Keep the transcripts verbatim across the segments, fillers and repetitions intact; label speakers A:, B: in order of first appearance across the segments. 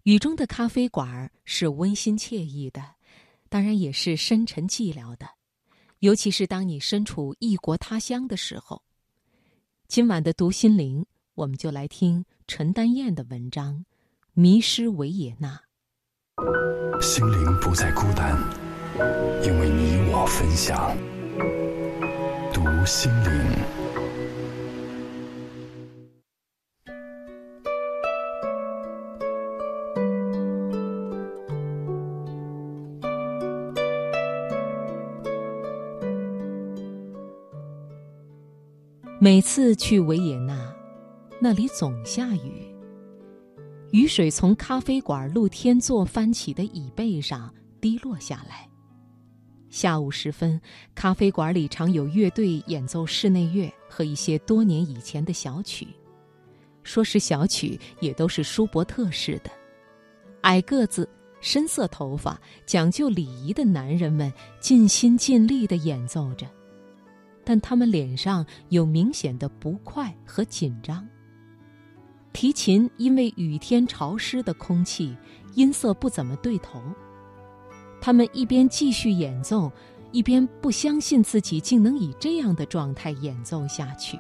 A: 雨中的咖啡馆是温馨惬意的，当然也是深沉寂寥的，尤其是当你身处异国他乡的时候。今晚的读心灵，我们就来听陈丹燕的文章《迷失维也纳》。
B: 心灵不再孤单，因为你我分享。读心灵。
A: 每次去维也纳，那里总下雨，雨水从咖啡馆露天座翻起的椅背上滴落下来。下午时分，咖啡馆里常有乐队演奏室内乐和一些多年以前的小曲，说是小曲，也都是舒伯特式的。矮个子、深色头发、讲究礼仪的男人们尽心尽力地演奏着，但他们脸上有明显的不快和紧张。提琴因为雨天潮湿的空气，音色不怎么对头。他们一边继续演奏，一边不相信自己竟能以这样的状态演奏下去。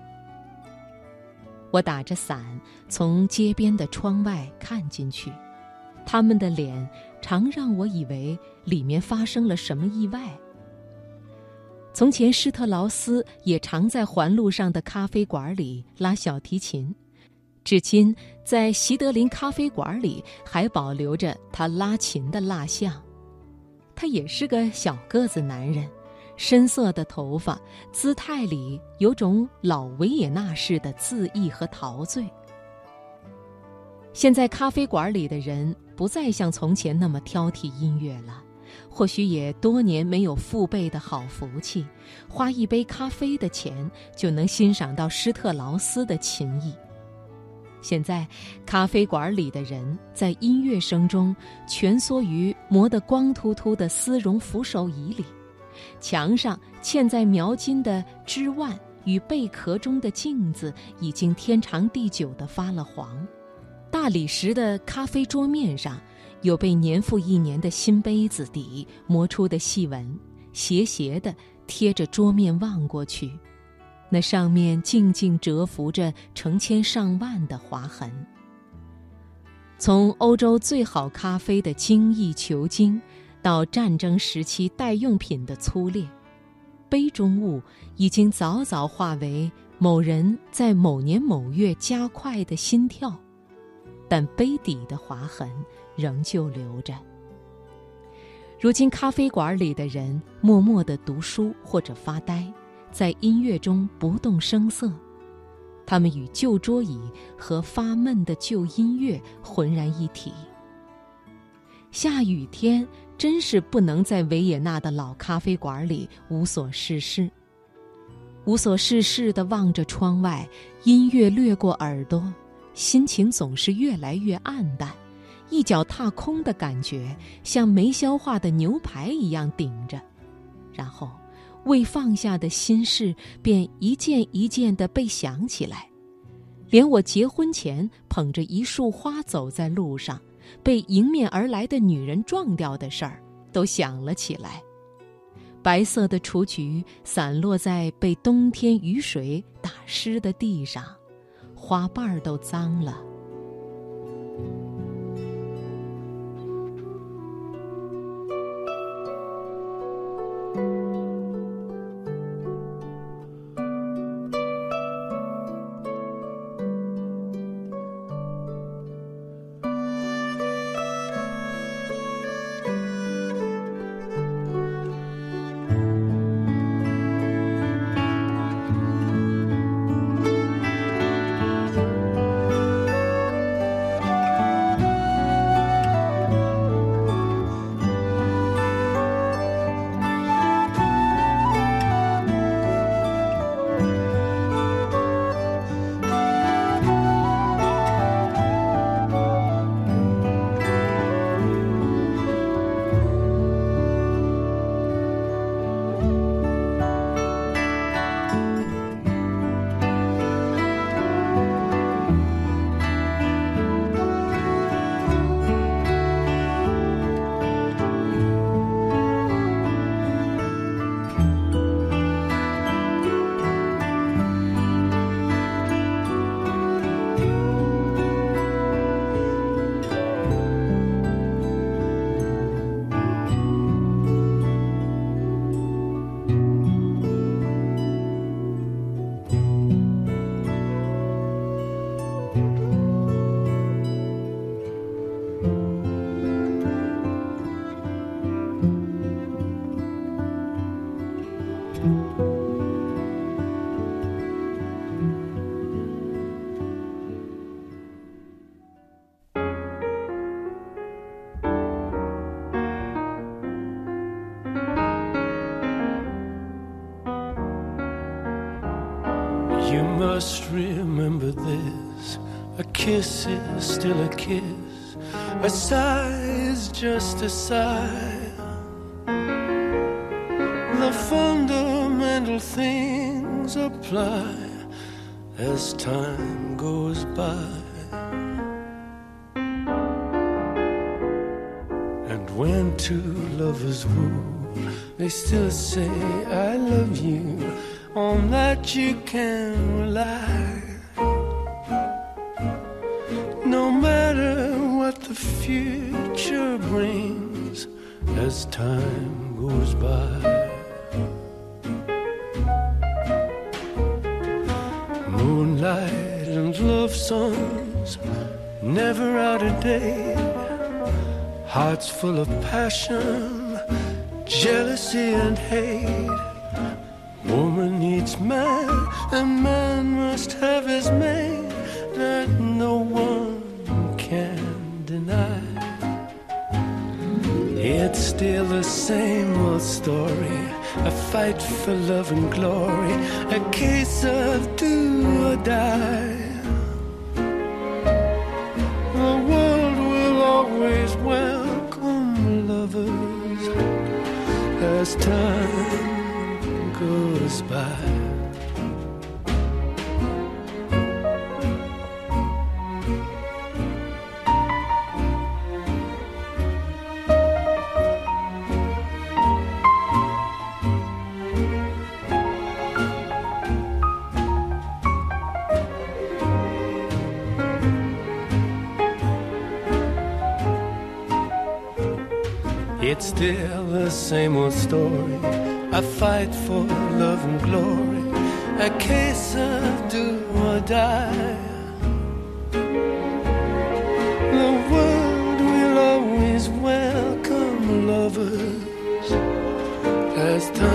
A: 我打着伞从街边的窗外看进去，他们的脸常让我以为里面发生了什么意外。从前施特劳斯也常在环路上的咖啡馆里拉小提琴，至今在席德林咖啡馆里还保留着他拉琴的蜡像。他也是个小个子男人，深色的头发，姿态里有种老维也纳式的恣意和陶醉。现在咖啡馆里的人不再像从前那么挑剔音乐了，或许也多年没有父辈的好福气，花一杯咖啡的钱就能欣赏到施特劳斯的琴艺。现在咖啡馆里的人在音乐声中蜷缩于磨得光秃秃的丝绒扶手椅里，墙上嵌在描金的枝蔓与贝壳中的镜子已经天长地久地发了黄。大理石的咖啡桌面上有被年复一年的新杯子底磨出的细纹，斜斜地贴着桌面望过去，那上面静静蛰伏着成千上万的划痕。从欧洲最好咖啡的精益求精，到战争时期代用品的粗劣，杯中物已经早早化为某人在某年某月加快的心跳，但杯底的划痕仍旧留着。如今咖啡馆里的人默默地读书或者发呆，在音乐中不动声色，他们与旧桌椅和发闷的旧音乐浑然一体。下雨天真是不能在维也纳的老咖啡馆里无所事事。无所事事地望着窗外，音乐掠过耳朵，心情总是越来越暗淡，一脚踏空的感觉像没消化的牛排一样顶着，然后未放下的心事便一件一件地被想起来。连我结婚前捧着一束花走在路上，被迎面而来的女人撞掉的事儿都想了起来。白色的雏菊散落在被冬天雨水打湿的地上，花瓣儿都脏了。
C: must remember this. A kiss is still a kiss. A sigh is just a sigh. The fundamental things apply as time goes by. And when two lovers woo, they still say I love you. On that you can rely. No matter what the future brings as time goes by. Moonlight and love songs, never out of date. Hearts full of passion, jealousy and hate. Woman needs man, and man must have his mate. That no one can deny. It's still the same old story, a fight for love and glory, a case of do or die. The world will always welcome lovers as time goes by. It's still the same old story, a fight for love and glory, a case of do or die. The world will always welcome lovers as time